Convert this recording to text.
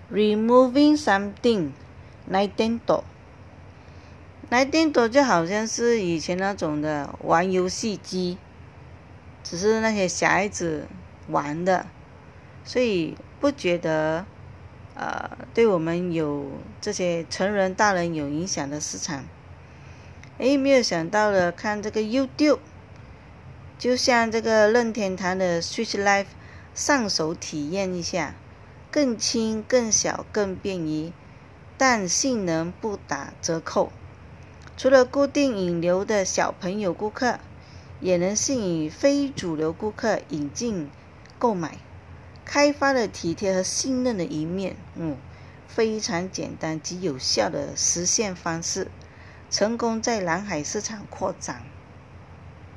removing something Nintendo 就好像是以前那种的玩游戏机，只是那些小孩子玩的，所以不觉得对我们有这些成人大人有影响的市场。没有想到的，看这个 YouTube， 就像这个任天堂的 Switch Live 上手体验一下，更轻更小更便宜，但性能不打折扣。除了固定引流的小朋友顾客，也能吸引非主流顾客引进购买，开发了体贴和信任的一面。非常简单及有效的实现方式，成功在蓝海市场扩展。